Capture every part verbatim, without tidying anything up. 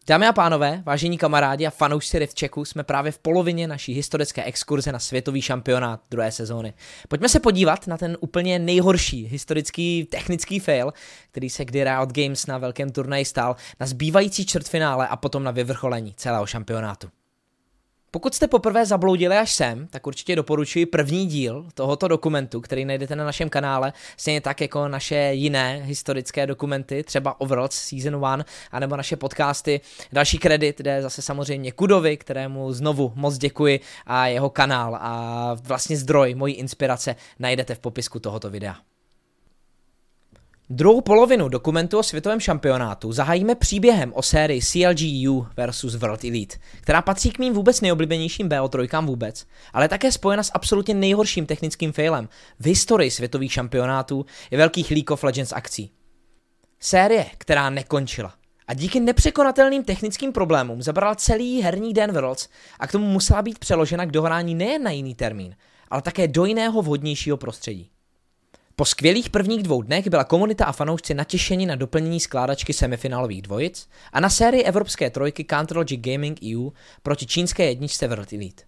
Dámy a pánové, vážení kamarádi a fanoušci Riftchecku, jsme právě v polovině naší historické exkurze na světový šampionát druhé sezóny. Pojďme se podívat na ten úplně nejhorší historický technický fail, který se kdy Riot Games na velkém turnaji stál, na zbývající čtvrtfinále a potom na vyvrcholení celého šampionátu. Pokud jste poprvé zabloudili až sem, tak určitě doporučuji první díl tohoto dokumentu, který najdete na našem kanále, stejně tak jako naše jiné historické dokumenty, třeba Overworlds Season jedna, anebo naše podcasty. Další kredit jde zase samozřejmě Kudovi, kterému znovu moc děkuji, a jeho kanál a vlastně zdroj mojí inspirace najdete v popisku tohoto videa. Druhou polovinu dokumentu o světovém šampionátu zahájíme příběhem o sérii C L G U versus World Elite, která patří k mým vůbec nejoblíbenějším B O tři vůbec, ale je také spojena s absolutně nejhorším technickým failem v historii světových šampionátů i velkých League of Legends akcí. Série, která nekončila a díky nepřekonatelným technickým problémům zabrala celý herní den Worlds a k tomu musela být přeložena k dohrání nejen na jiný termín, ale také do jiného vhodnějšího prostředí. Po skvělých prvních dvou dnech byla komunita a fanoušci natěšeni na doplnění skládačky semifinálových dvojic a na sérii evropské trojky Counter Logic Gaming E U proti čínské jedničce World Elite.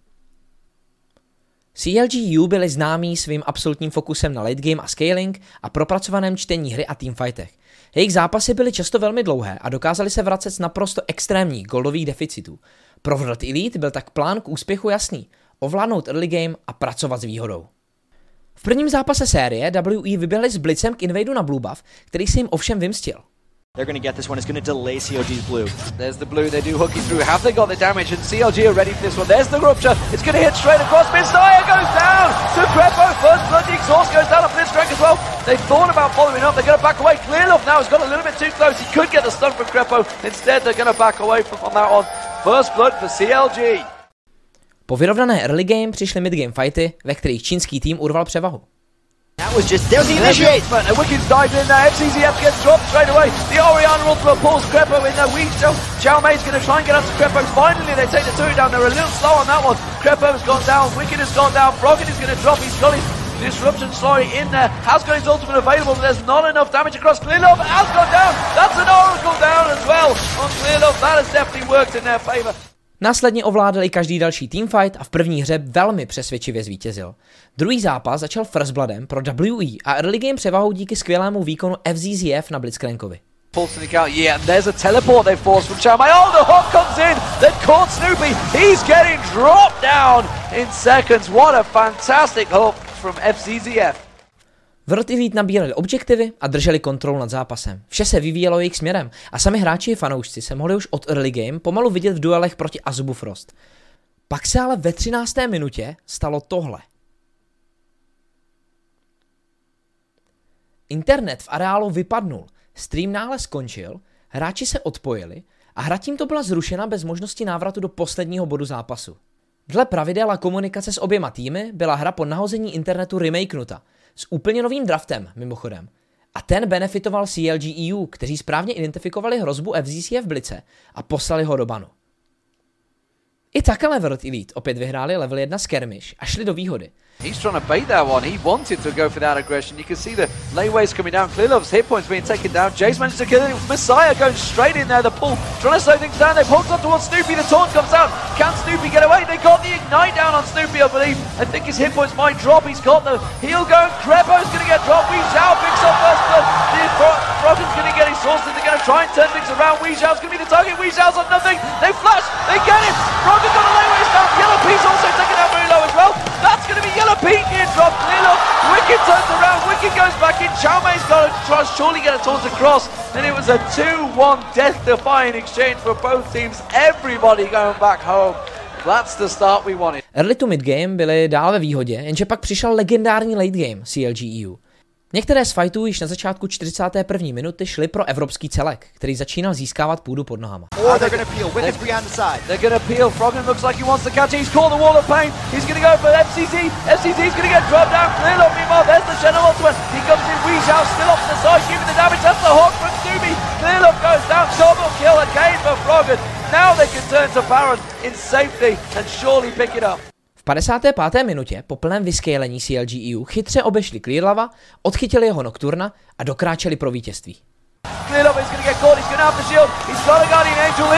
C L G U byli známí svým absolutním fokusem na late game a scaling a propracovaném čtení hry a teamfightech. Jejich zápasy byly často velmi dlouhé a dokázali se vracet z naprosto extrémních goldových deficitů. Pro World Elite byl tak plán k úspěchu jasný: ovládnout early game a pracovat s výhodou. V prvním zápase série W E vyběhli s blitzem k invadu na blue buff, který se jim ovšem vymstil. They're going to get this one. It's going to delay C L G's blue. There's the blue. They do hooky through. Have they got the damage? And C L G are ready for this one. There's the rupture. It's going to hit straight across. Messiah goes down to Crepo. First blood. The exhaust goes down on Blitzcrank as well. They thought about following up. They're going to back away. Clearlove now has got a little bit too close. He could get the stun from Crepo. Instead, they're going to back away from on that one. First blood for C L G. Po vyrovnané early game přišly mid game fighty, ve kterých čínský tým urval převahu. That was just, there's the initiate! And Wicked's dived in there, F C Z F gets dropped straight away. The Oriana ultimate pulls Crepo in there, Weed still. Xiao Mei's going to try and get up to Crepo. Finally they take the two down, they're a little slow on that one. Crepo's gone down, Wicked has gone down, Froggen is going to drop, he's got his disruption slowly in there. Has got his ultimate available, but there's not enough damage across. Clearlove has gone down, that's an Oracle down as well on Clearlove. That has definitely worked in their favour. Následně ovládl i každý další teamfight a v první hře velmi přesvědčivě zvítězil. Druhý zápas začal First Bloodem pro W E a early game převahou díky skvělému výkonu F Z Z F na Blitzcrankovi. Pulse in the count, yeah, and there's a teleport they've forced from Xiao Mei. Oh, the hook comes in, they've caught Snoopy, he's getting dropped down in seconds. What a fantastic hook from F Z Z F. World Elite nabírali objektivy a drželi kontrolu nad zápasem. Vše se vyvíjelo jejich směrem a sami hráči i fanoušci se mohli už od early game pomalu vidět v duelech proti Azubu Frost. Pak se ale ve třinácté minutě stalo tohle. Internet v areálu vypadnul, stream náhle skončil, hráči se odpojili a hra tímto byla zrušena bez možnosti návratu do posledního bodu zápasu. Dle pravidel a komunikace s oběma týmy byla hra po nahození internetu remakenuta, s úplně novým draftem, mimochodem. A ten benefitoval C L G E U, kteří správně identifikovali hrozbu F Z Z F Blitze a poslali ho do banu. I tak ale World Elite opět vyhráli level jedna skirmish a šli do výhody. He's trying to bait that one. He wanted to go for that aggression. You can see the layways coming down. Clearlove's hit points being taken down. Jace managed to kill him. Messiah going straight in there. The pull, trying to slow things down. They've hooked up towards Snoopy. The taunt comes out. Can Snoopy get away? They got the ignite down on Snoopy, I believe. I think his hit points might drop. He's got the heal going. Crepo's going to get dropped. Wee Zhao picks up first blood. Froggen's going to get his source. They're going to try and turn things around. Wee Zhao's going to be the target. Wee Zhao's on nothing. They flash. They get him. Froggen got a layways down. Yellow P's also taken out very low as well. That's going to be Yellow Pete being dropped. Clearlove, Wicked turns around, Wicked goes back in, Xiao Mei's got to try surely get a taunt across, and it was a two one death-defying exchange for both teams, everybody going back home. That's the start we wanted. Early to mid game byli dál ve výhodě, jenže pak přišel legendární late game C L G E U. Některé z fightů již na začátku čtyřicáté první minuty šly pro evropský celek, který začínal získávat půdu pod nohama. Oh, they're going to peel. Wicked's behind the side. They're going to peel. Froggen looks like he wants to catch it. He's caught the wall of pain. He's going to go for F C Z. F C Z's going to get dropped down. Clearlove, meanwhile, there's the Shadow ultimate. He comes in. Wee Zhao still up to the side, giving the damage. That's the hook from Snoopy. Clearlove goes down. Double kill again for Froggen. Now they can turn to Baron in safety and surely pick it up. V padesáté páté minutě po plném vyscalení C L G E U chytře obešli Clearlava, odchytili jeho Nocturna a dokráčeli pro vítězství. Clearlove is going to get caught, he's going to have the shield, he's got a Guardian Angel, it is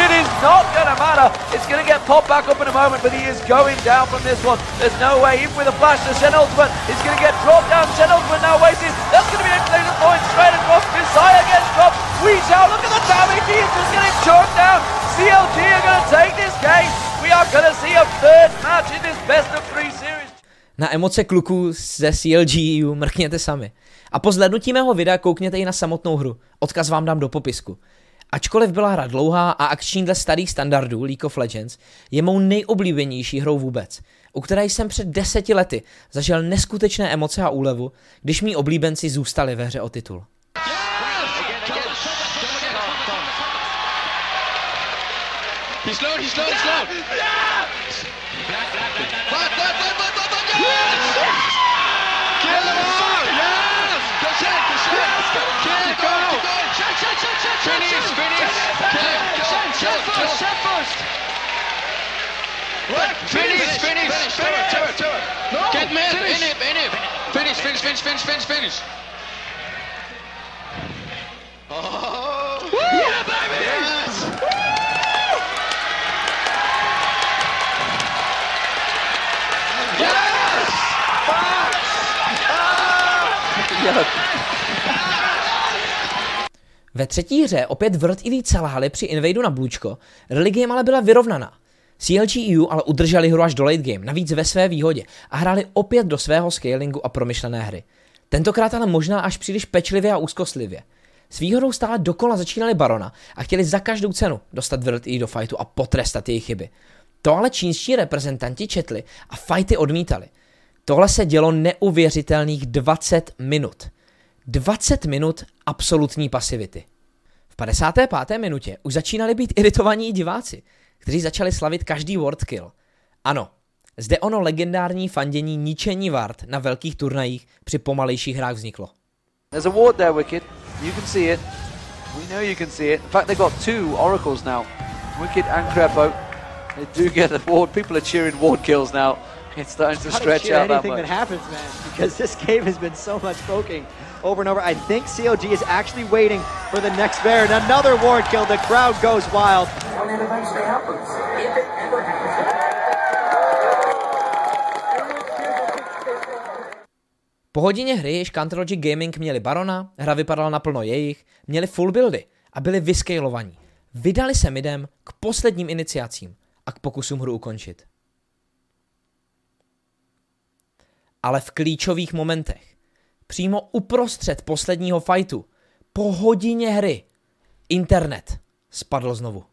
not going to matter. It's going to get popped back up in a moment, but he is going down from this one. There's no way, even with a flash to Shen Ultimate, he's going to get dropped down. Shen Ultimate now wasted. That's going to be an exclamation point straight across. Messiah gets dropped. We shall look at the damage. He is just getting choked down. C L G are going to take this game. We are going to see a third match in this best of three series. Na emoce kluků ze C L G U mrkněte sami. A po zhlédnutí mého videa koukněte i na samotnou hru. Odkaz vám dám do popisku. Ačkoliv byla hra dlouhá a akční dle starých standardů League of Legends, je mou nejoblíbenější hrou vůbec, u které jsem před deseti lety zažil neskutečné emoce a úlevu, když mý oblíbenci zůstali ve hře o titul. He's low, he's low, he's low. Yes! Black, black, black, black, black, black, black, black, black, black, yes! Kill him all! Yes! Go check, go check! Yes! Kill, keep going, keep going! Check, check, check, check, check! Finish, finish! Kill, kill, kill first, check first! What? Finish, finish, finish! Turret, turret, no! Get mad, in it, in it! Finish, finish, finish, finish, finish, finish! Oh! Yeah, baby! Yes! Ve třetí hře opět World Elite selhali při invadu na Blučko, rally game ale byla vyrovnaná. C L G U ale udrželi hru až do late game, navíc ve své výhodě, a hráli opět do svého scalingu a promyšlené hry. Tentokrát ale možná až příliš pečlivě a úzkostlivě. S výhodou stále dokola začínali Barona a chtěli za každou cenu dostat World Elite do fightu a potrestat jejich chyby. To ale čínští reprezentanti četli a fighty odmítali. Tohle se dělo neuvěřitelných dvacet minut. dvacet minut absolutní pasivity. V padesáté páté minutě už začínali být iritovaní diváci, kteří začali slavit každý ward kill. Ano, zde ono legendární fandění ničení ward na velkých turnajích při pomalejších hrách vzniklo. There's a ward there, Wicked. You can see it. We know you can see it. In fact, they got two oracles now. Wicked and Crepo. They do get the ward. People are cheering ward kills now. It's starting to stretch out that much. Anything that happens, man, because this game has been so much poking over and over. I think C L G is actually waiting for the next bear, and another ward kill. The crowd goes wild. And it eventually happens. If it ever happens. Po hodině hry, jež Counter-Logic Gaming měli Barona, hra vypadala naplno jejich, měli full buildy a byli vyscalovaní. Vydali se midem k posledním iniciacím a k pokusům hru ukončit. Ale v klíčových momentech, přímo uprostřed posledního fightu, po hodině hry, internet spadl znovu.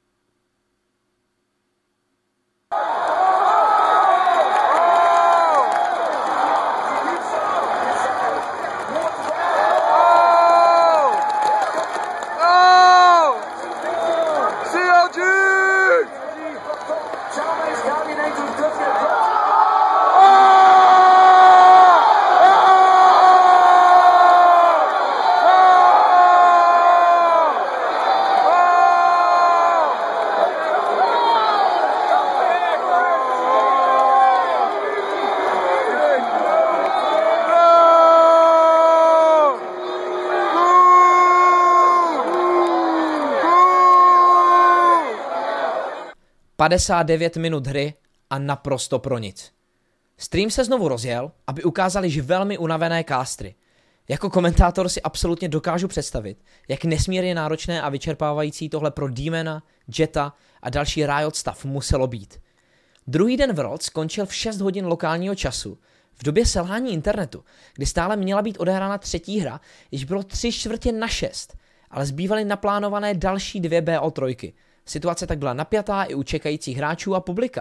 padesát devět minut hry a naprosto pro nic. Stream se znovu rozjel, aby ukázali již velmi unavené castry. Jako komentátor si absolutně dokážu představit, jak nesmírně náročné a vyčerpávající tohle pro Demona, Jetta a další Riot staff muselo být. Druhý den World skončil v šest hodin lokálního času, v době selhání internetu, kdy stále měla být odehrána třetí hra, již bylo tři čtvrtě na šest, ale zbývaly naplánované další dvě B O tři. Situace tak byla napjatá i u čekajících hráčů a publika.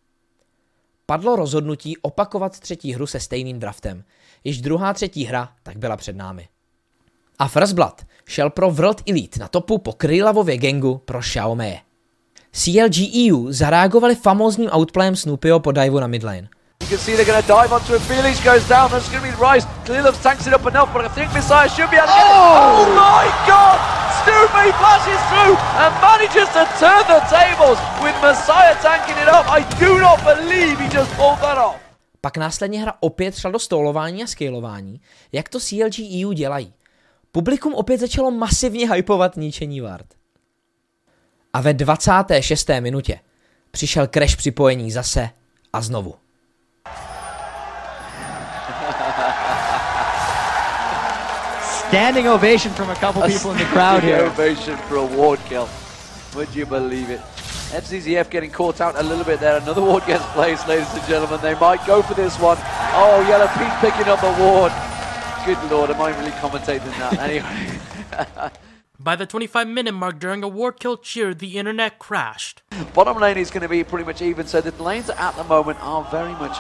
Padlo rozhodnutí opakovat třetí hru se stejným draftem. Již druhá třetí hra tak byla před námi. A First Blood šel pro World Elite na topu po Krylavově gangu pro Xiaomei. C L G E U zareagovali famózním outplayem Snoopyho po divu na midlane. You can see they're going to dive onto it. Felix goes down. That's going to be Rice. Clearlove tanks it up enough, but I think Messiah should be able to get it. Oh, oh my God! Snoopy flashes through and manages to turn the tables with Messiah tanking it up. I do not believe he just pulled that off. Pak následně hra opět šla do stolování a scalování, jak to C L G E U dělají. Publikum opět začalo masivně hypovat ničení ward. A ve dvacáté šesté minutě přišel crash připojení zase a znovu. Standing ovation from a couple people in the crowd here. Ovation for a ward kill. Would you believe it? F C Z F getting caught out a little bit there. Another ward gets placed, ladies and gentlemen. They might go for this one. Oh, Yellow Pete picking up a ward. Good lord, am I really commentating that? Anyway. By the twenty-five minute mark during a ward kill cheer, the internet crashed. Bottom lane is going to be pretty much even, so the lanes at the moment are very much...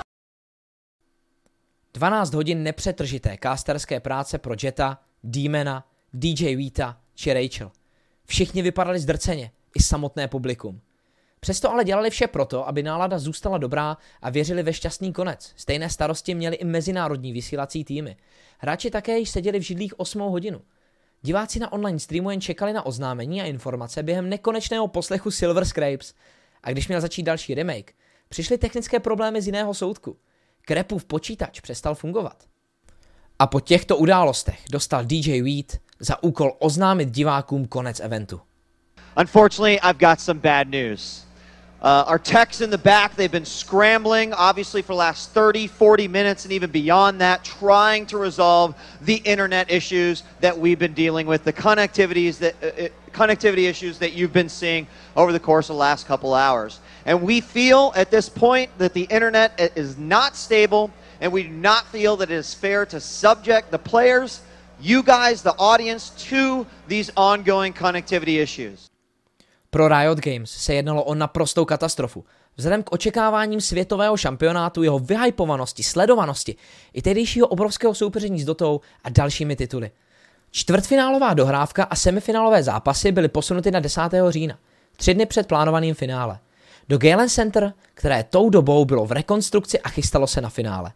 dvanáct hodin nepřetržité casterské práce pro Jetta, Demona, D J Vita či Rachel. Všichni vypadali zdrceně, i samotné publikum. Přesto ale dělali vše proto, aby nálada zůstala dobrá a věřili ve šťastný konec. Stejné starosti měli i mezinárodní vysílací týmy. Hráči také již seděli v židlích osmou hodinu. Diváci na online streamu jen čekali na oznámení a informace během nekonečného poslechu Silver Scrapes. A když měl začít další remake, přišly technické problémy z jiného soudku. Krepův počítač přestal fungovat. A po těchto událostech dostal D J Wheat za úkol oznámit divákům konec eventu. Unfortunately, I've got some bad news. Uh, our techs in the back, they've been scrambling, obviously, for the last thirty, forty minutes and even beyond that, trying to resolve the internet issues that we've been dealing with, the connectivities that, uh, connectivity issues that you've been seeing over the course of the last couple hours. And we feel at this point that the internet is not stable, and we do not feel that it is fair to subject the players, you guys, the audience, to these ongoing connectivity issues. Pro Riot Games se jednalo o naprostou katastrofu. Vzhledem k očekáváním světového šampionátu, jeho vyhypovanosti, sledovanosti i tehdejšího obrovského soupeření s Dotou a dalšími tituly. Čtvrtfinálová dohrávka a semifinálové zápasy byly posunuty na desátého října, tři dny před plánovaným finále. Do Galen Center, které tou dobou bylo v rekonstrukci a chystalo se na finále.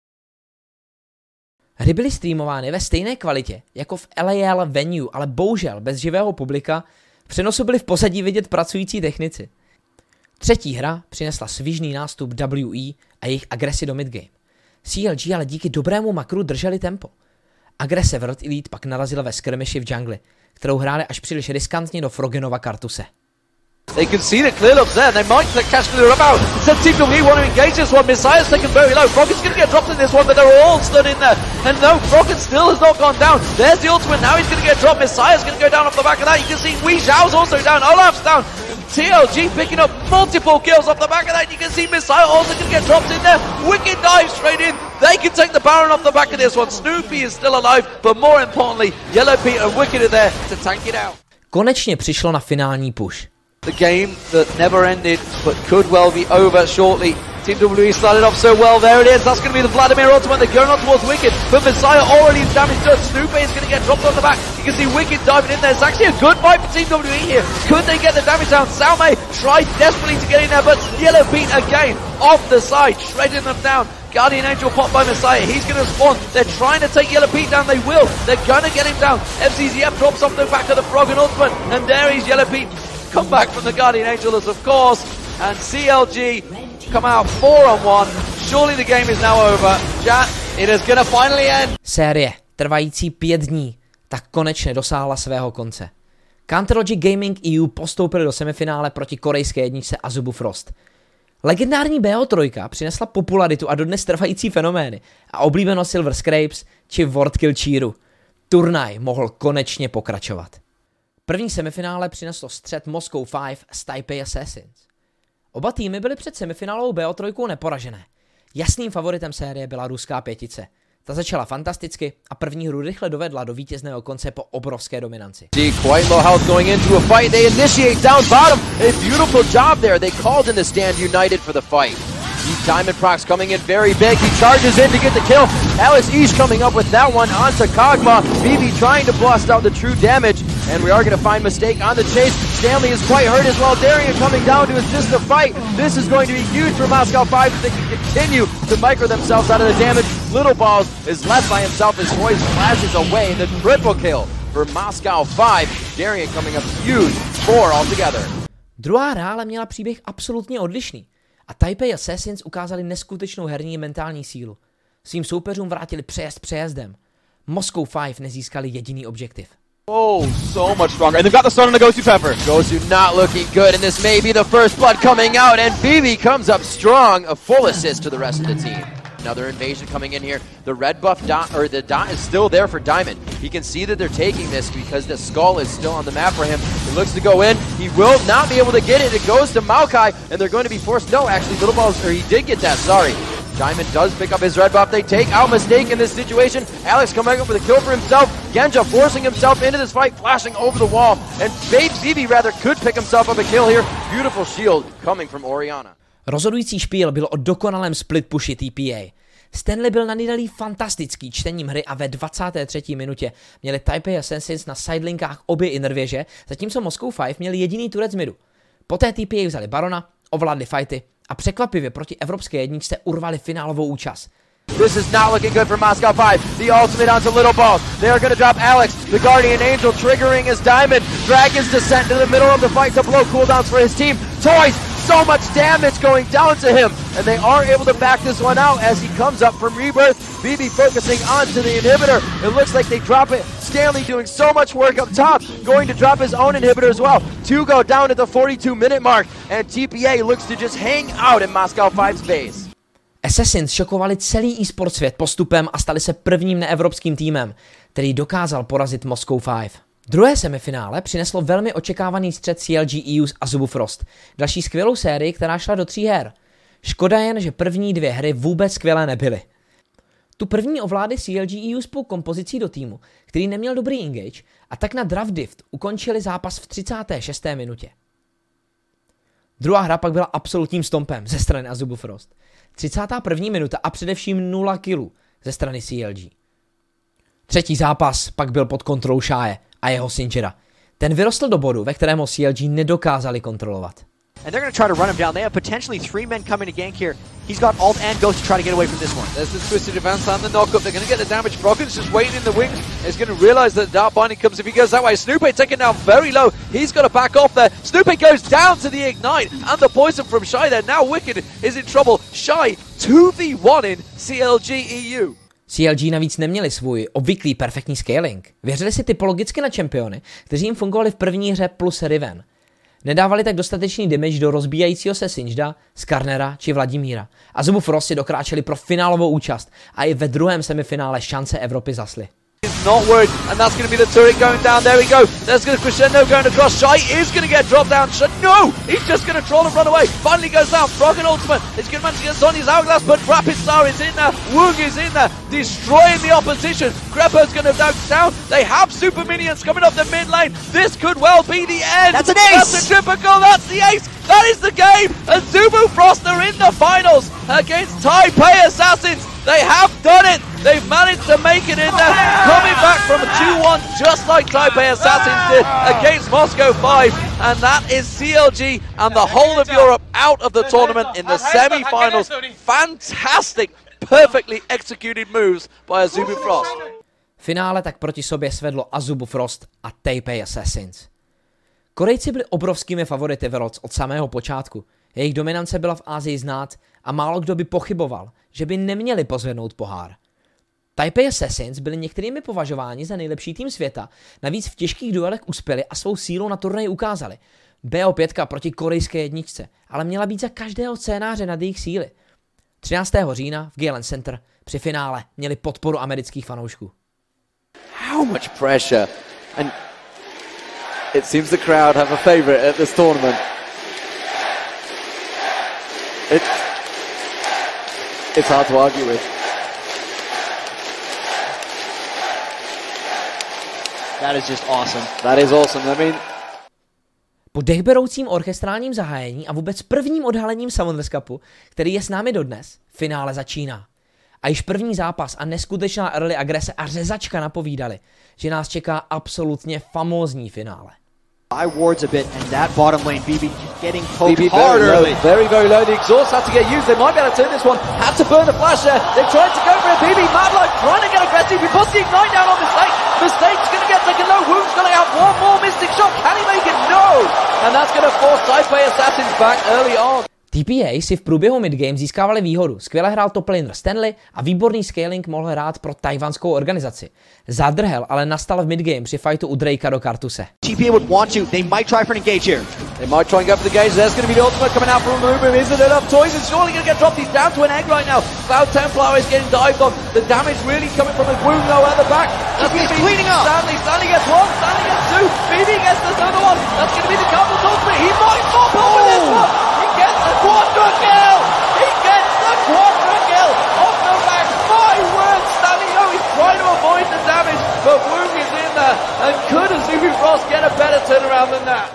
Hry byly streamovány ve stejné kvalitě jako v L A L venue, ale bohužel bez živého publika. V přenosu byli v pozadí vidět pracující technici. Třetí hra přinesla svižný nástup W E a jejich agresi do midgame. C L G ale díky dobrému makru drželi tempo. Agrese World Elite pak narazila ve skirmishi v jungli, kterou hráli až příliš riskantně do Frogenova Kartuse. They can see the clear looks there, they might catch the up out. Instead, Team W E want to engage this one. Messiah's taken very low. Froggen's going to get dropped in this one, but they're all stood in there. And no, Froggen still has not gone down. There's the ultimate, now he's going to get dropped. Messiah's going to go down off the back of that. You can see Wei Xiao's also down, Olaf's down. T L G picking up multiple kills off the back of that. You can see Messiah also going to get dropped in there. Wicked dive straight in. They can take the Baron off the back of this one. Snoopy is still alive, but more importantly, Yellow Pete and Wicked are there to tank it out. Konečně přišlo na finální push. The game that never ended, but could well be over shortly. Team W E started off so well, there it is, that's going to be the Vladimir ultimate, they're going on towards Wicked, but Messiah already damaged done. Snoopy is going to get dropped on the back, you can see Wicked diving in there. It's actually a good fight for Team W E here. Could they get the damage down? Salme tried desperately to get in there, but Yellow Pete again, off the side, shredding them down. Guardian Angel popped by Messiah, he's going to spawn, they're trying to take Yellow Pete down, they will, they're going to get him down. F C Z F drops off the back of the Froggen ultimate, and there he's Yellow Pete. Come back from the Guardian Angels, of course, and C L G come out four on one. Surely the game is now over. Chat, it is gonna finally end. Série, trvající pět dní, tak konečně dosáhla svého konce. Counterlogic Gaming E U postoupili do semifinále proti korejské jedničce Azubu Frost. Legendární B O tři přinesla popularitu a dodnes trvající fenomény a oblíbenost Silver Scrapes či World Kill Cheeru. Turnaj mohl konečně pokračovat. První semifinále přineslo střet Moscow pět s Taipei Assassins. Oba týmy byly před semifinálovou B O tři neporažené. Jasným favoritem série byla ruská pětice. Ta začala fantasticky a první hru rychle dovedla do vítězného konce po obrovské dominanci. Quite low health going into a fight. They initiate down bottom. A beautiful job there. They called in the stand united for the fight. Diamond Prox coming in very big. He charges in to get the kill. Alice East coming up with that one onto Kog'Maw. B B trying to blast out the true damage. And we are going to find Mistake on the chase. Stanley is quite hurt as well. Darian coming down to assist the fight. This is going to be huge for Moscow five if they can continue to micro themselves out of the damage. Little Balls is left by himself as Royce flashes away. The triple kill for Moscow five. Darian coming up huge. Four altogether. Druhá hra ale měla příběh absolutně odlišný. A Taipei Assassins ukázali neskutečnou herní mentální sílu. Svým soupeřům vrátili přejezd přejezdem. Moscow pět nezískali jediný objektiv. Oh, so much stronger. And they've got the stun on the Gosu Pepper. Gosu not looking good, and this may be the first blood coming out, and B B comes up strong. A full assist to the rest of the team. Another invasion coming in here. The red buff dot, or the dot is still there for Diamond. He can see that they're taking this because the skull is still on the map for him. He looks to go in. He will not be able to get it. It goes to Maokai, and they're going to be forced. No, actually, Little Balls, or he did get that, sorry. Diamond does pick up his red buff. They take out Mistake in this situation. Alex coming up with a kill for himself. Genja forcing himself into this fight, flashing over the wall. And Babe B B rather could pick himself up a kill here. Beautiful shield coming from Orianna. Rozhodující špíl byl o dokonalém split pushi T P A. Stanley byl na Nidalí fantastický čtením hry a ve dvacáté třetí minutě měli Taipei Assassins na sidelinkách obě innervěže, zatímco Moscow five měli jediný turec z midu. Poté T P A vzali Barona, ovládli fighty a překvapivě proti evropské jedničce urvali finálovou účast. This is not looking good for Moscow five. The ultimate onto Little Balls. They are going to drop Alex. The Guardian Angel triggering his Diamond. Dragon's descent into the middle of the fight to blow cooldowns for his team. Toys, so much damage going down to him. And they are able to back this one out as he comes up from Rebirth. B B focusing onto the inhibitor. It looks like they drop it. Stanley doing so much work up top. Going to drop his own inhibitor as well. Two go down at the forty-two minute mark. And T P A looks to just hang out in Moscow five's base. Assassins šokovali celý e-sport svět postupem a stali se prvním neevropským týmem, který dokázal porazit Moscow five. Druhé semifinále přineslo velmi očekávaný střet C L G E U a Zubu Frost, další skvělou sérii, která šla do tří her. Škoda jen, že první dvě hry vůbec skvělé nebyly. Tu první ovládli C L G E U spolu kompozicí do týmu, který neměl dobrý engage, a tak na Draft Dift ukončili zápas v třicáté šesté minutě. Druhá hra pak byla absolutním stompem ze strany Azubu Frost. třicátá první minuta a především nula killů ze strany C L G. Třetí zápas pak byl pod kontrolou Shae a jeho Singera. Ten vyrostl do bodu, ve kterém ho C L G nedokázali kontrolovat. And they're going to try to run him down. They have potentially three men coming to gank here. He's got ult and Ghost to try to get away from this one. There's the twisted advance and the knock-up. They're going to get the damage. Froggen's just waiting in the wings. He's going to realise that Dark Binding comes if he goes that way. Snoopy taken down very low. He's got to back off there. Snoopy goes down to the Ignite. And the poison from Shy there. Now Wicked is in trouble. Shy two v one in C L G E U. C L G navíc neměli svůj obvyklý perfektní scaling. Věřili si typologicky na čempiony, kteří jim fungovali v první hře plus Riven. Nedávali tak dostatečný damage do rozbíjajícího se Singeda, Skarnera či Vladimíra. A Zubu Frost si dokráčeli pro finálovou účast a i ve druhém semifinále šance Evropy zasli. He's not worried, and that's going to be the turret going down. There we go. There's going to Crescendo going across. Shy is going to get dropped down. Sh no! He's just going to troll and run away. Finally goes down. Froggen ultimate. He's going to manage to get Sonya's hourglass, but Rapid Star is in there. Woog is in there, destroying the opposition. Crepo's going to dunk down. They have super minions coming up the mid lane. This could well be the end. That's an ace! That's a triple. That's the ace. That is the game. And Zubu Frost are in the finals against Taipei Assassins. They have done it. They've managed to make it in there, coming back from a two one just like Taipei Assassins did against Moscow five. And that is C L G and the whole of Europe out of the tournament in the semi-finals. Fantastic, perfectly executed moves by Azubu Frost. Finále tak proti sobě svedlo Azubu Frost a Taipei Assassins. Korejci byli obrovskými favority Worlds od samého počátku. Jejich dominance byla v Asii znát a málo kdo by pochyboval, že by neměli pozvednout pohár. Taipei Assassins byli některými považováni za nejlepší tým světa, navíc v těžkých duelech uspěli a svou sílu na turnaji ukázali. B O pět proti korejské jedničce, ale měla být za každého scénáře nad jejich síly. třináctého října v Galen Center při finále měli podporu amerických fanoušků. How much pressure, and it seems the crowd have a favorite at this tournament. It, it's hard to argue with. That is just awesome. That is awesome. I mean, po dechberoucím orchestrálním zahájení a vůbec prvním odhalením Summoners Cupu, který je s námi dodnes, finále začíná. A již první zápas a neskutečná early agrese a řezačka napovídali, že nás čeká absolutně famózní finále. I wards a bit, and that bottom lane, B B getting poked B B hard very early. low, very, very low. The exhaust had to get used. They might be able to turn this one. Had to burn the flash there. They tried to go for it. B B, Madlock trying to get aggressive. He puts the Ignite down on Mistake. Mistake's going to get taken low. Wound's going to have one more Mystic shot. Can he make it? No! And that's going to force Taipei Assassins back early on. T T P A si v průběhu midgame získávali výhodu, skvěle hrál top laner Stanley a výborný scaling mohl hrát pro tajvanskou organizaci. Zadrhel ale nastal v midgame při fightu u Drakea do Kartuse. T P A would want to, they might try for an engage here. They might try and go for the engage. There's going to be the ultimate coming out from Lubu. Isn't it enough? Toys is surely going to get dropped. He's down to an egg right now. Cloud Templar is getting dived on. The damage really coming from his wound though at the back. That's T P A's gonna be cleaning up. Stanley. Stanley gets one. Stanley gets two. B B gets this other one. That's going to be the Cowboys ultimate. He might pop up with this one. He gets the quadra kill. He gets the quadra kill off the back. My word, Stanley, oh, he's trying to avoid the damage, but Woong is in there. And could Azumi Frost get a better turnaround than that?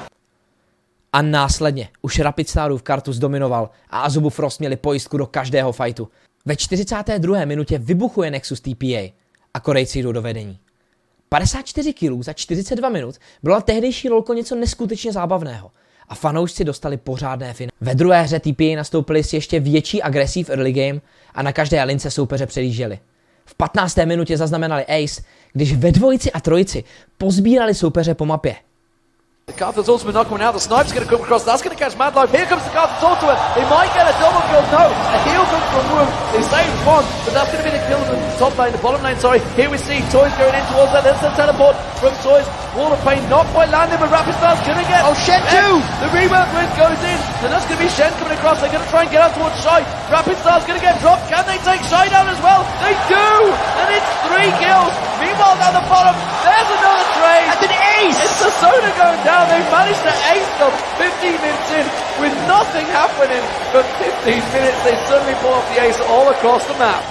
A následně už Rapid Starův Kartus dominoval a Azubu Frost měli pojistku do každého fightu. Ve čtyřicáté druhé minutě vybuchuje Nexus T P A a Korejci jdou do vedení. padesát čtyři kilů za čtyřicet dva minut bylo tehdejší lolko něco neskutečně zábavného a fanoušci dostali pořádné finále. Ve druhé hře T P A nastoupili s ještě větší agresí v early game a na každé lince soupeře předjížděli. V patnácté minutě zaznamenali ace, když ve dvojici a trojici pozbírali soupeře po mapě. The Karthus ultimate not coming out, the snipe's going to come across, that's going to catch Mad Life, here comes the Karthus ultimate, they might get a double kill, no, a heal comes from Woong, they saved one, but that's going to be the kill from the top lane, the bottom lane, sorry, here we see Toys going in towards that, there's the teleport from Toys, Wall of Pain not quite landing, but Rapid Star's going to get, Oh, Shen too! the rebound wind goes in, and that's going to be Shen coming across, they're going to try and get out towards Shy, Rapid Star's going to get dropped, can they take Shy down as well? They do, and it's three kills, meanwhile down the bottom, there's another trade, That's an ace! it's the Soda going down, they managed to ace them fifteen minutes in with nothing happening for fifteen minutes. They suddenly pull off the ace all across the map.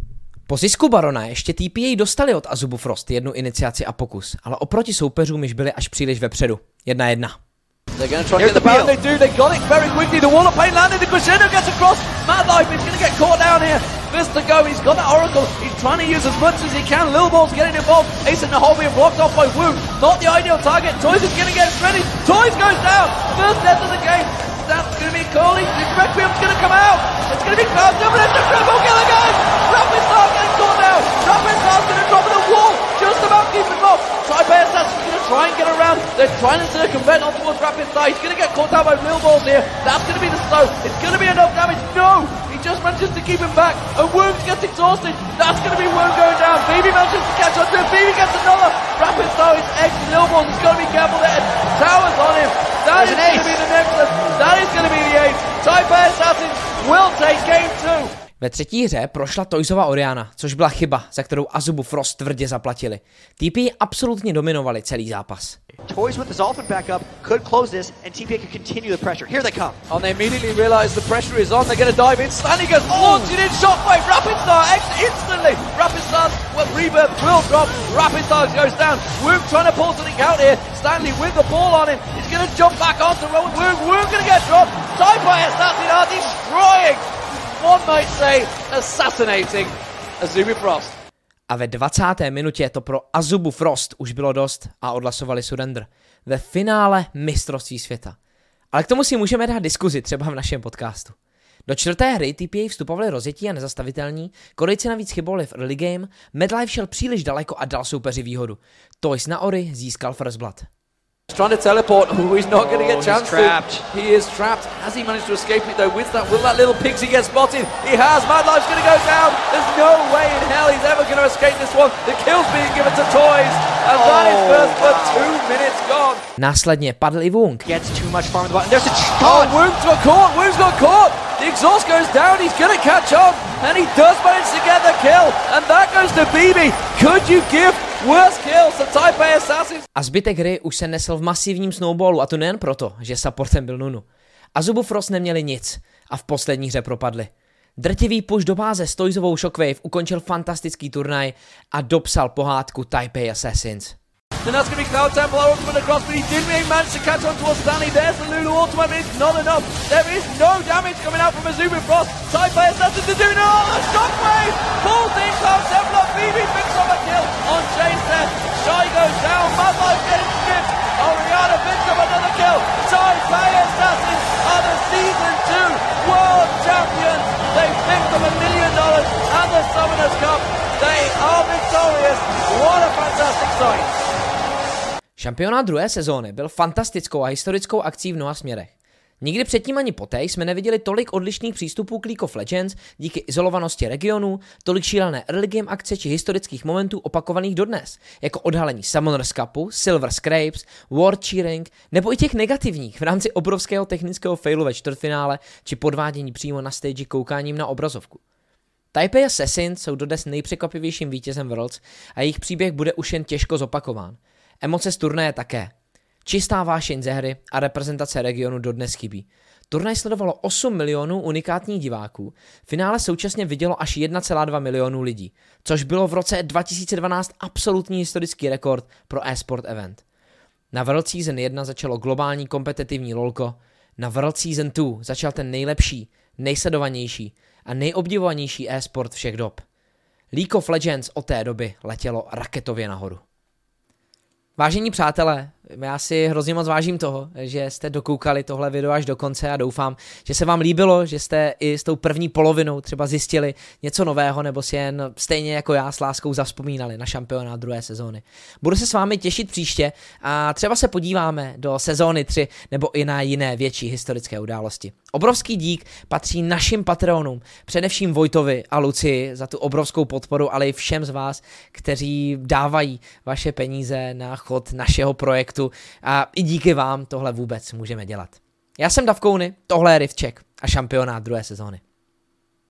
Po zisku Barona ještě T P A dostali od Azubu Frost jednu iniciaci a pokus, ale oproti soupeřům již byli až příliš vepředu. Jedna jedna. They're going to try and Here's get the the pound. They do. They got it very quickly. The Wall of Pain landed. The Crescendo gets across. Mad Life is going to get caught down here. Fist to go. He's got that Oracle. He's trying to use as much as he can. Lil Ball's getting involved. Ace and Nahal being blocked off by Woong. Not the ideal target. Toys is going to get ready. Toys goes down. First death of the game. That's going to be Coley. The Requiem's going to come out. It's going to be Cloud Double. It's a triple kill again. Rapid Star getting caught down. Rapid Star's going to drop in the wall. Just about keeping him off. Tri-Bear Assassin's going to try and get around. They're trying to circumvent on towards Rapid Star. He's going to get caught down by Real Balls here. That's going to be the slow. It's going to be enough damage. No! He just manages to keep him back. And Woong gets exhausted. That's going to be Woong going down. Baby manages to catch on to him. Baby gets another. Rapid Star is X. Lil Balls. He's got to be careful there. Towers on him. That is going to be the next one. That is going to be the ace. Tri-Bear Assassin will take game two. Ve třetí hře prošla Toysova Oriana, což byla chyba, za kterou Azubu Frost tvrdě zaplatili. T P A absolutně dominovali celý zápas. Toys with his ultimate back up could close this, and T P A could continue the pressure. Here they come. And they immediately realise the pressure is on. They're going to dive in. Stanley gets launched in shockwave. Rapid Star X instantly. Rapid Star's well, rebirth will drop. Rapid Star goes down. Woong trying to pull something out here. Stanley with the ball on him. He's going to jump back onto Rowan Woong. Woong going to get dropped. Tri-Bear Assassin are destroying. One might say assassinating Azumi Frost. A ve dvacáté minutě to pro Azubu Frost už bylo dost a odhlasovali surrender ve finále mistrovství světa. Ale k tomu si můžeme dát diskuzi třeba v našem podcastu. Do čtvrté hry T P A vstupovali rozjetí a nezastavitelní, Korejci navíc chybovali v early game, Madlife šel příliš daleko a dal soupeři výhodu. Toys na Ori získal First Blood. Trying to teleport. Oh, he's not going to get Oh, chance he's trapped. to. He is trapped. Has he managed to escape it though? With that, will that little pixie get spotted? He has. Mad Life's going to go down. There's no way in hell he's ever going to escape this one. The kill's being given to Toys, and oh. that is first for two minutes gone. Následně padl i Woong. Gets too much farm in the bottom. There's a Oh, Woong's got caught. Woong's got caught. The exhaust goes down. He's going to catch on, and he does manage to get the kill. And that goes to B B. Could you give worst kills to Taipei Assassins? A zbytek hry už se nesl v masivním snowballu, a to nejen proto, že supportem byl Nunu. Azubu Frost neměli nic a v poslední hře propadli. Drtivý push do báze s Toysovou Shockwave ukončil fantastický turnaj a dopsal pohádku Taipei Assassins. And that's going to be Cloud Templar ultimate across, but he didn't really manage to catch on towards Stanley. There's the Lulu ultimate, but it's not enough. There is no damage coming out from Azumi Frost. Taipei Assassin to do no, the Shockwave! Pulls in Cloud Templar, B B picks up a kill on Chase there. Shy goes down, Mad Life getting skipped. Oriana picks up another kill. Taipei Assassins are the Season two World Champions. They picked up a million dollars and the Summoners Cup. They are victorious. What a fantastic sight. Šampionát druhé sezóny byl fantastickou a historickou akcí v mnoha směrech. Nikdy předtím ani poté jsme neviděli tolik odlišných přístupů k League of Legends díky izolovanosti regionů, tolik šílené early game akce či historických momentů opakovaných dodnes, jako odhalení Summoners Cupu, Silver Scrapes, World Cheering, nebo i těch negativních v rámci obrovského technického failu ve čtvrtfinále či podvádění přímo na stage koukáním na obrazovku. Taipei Assassins jsou dodnes nejpřekvapivějším vítězem Worlds a jejich příběh bude už jen těžko zopakován. Emoce z turnaje také. Čistá vášeň ze hry a reprezentace regionu dodnes chybí. Turnaj sledovalo osm milionů unikátních diváků, finále současně vidělo až jedna celá dva milionu lidí, což bylo v roce dva tisíce dvanáct absolutní historický rekord pro e-sport event. Na World Season jedna začalo globální kompetitivní lolko, na World Season dva začal ten nejlepší, nejsledovanější a nejobdivovanější e-sport všech dob. League of Legends od té doby letělo raketově nahoru. Vážení přátelé, já si hrozně moc vážím toho, že jste dokoukali tohle video až do konce a doufám, že se vám líbilo, že jste i s tou první polovinou třeba zjistili něco nového nebo si jen stejně jako já s láskou zavzpomínali na šampionát druhé sezóny. Budu se s vámi těšit příště a třeba se podíváme do sezóny tři nebo i na jiné větší historické události. Obrovský dík patří našim patronům, především Vojtovi a Lucii za tu obrovskou podporu, ale i všem z vás, kteří dávají vaše peníze na chod našeho projektu a i díky vám tohle vůbec můžeme dělat. Já jsem Davkouny, tohle je Riftcheck a šampionát druhé sezóny.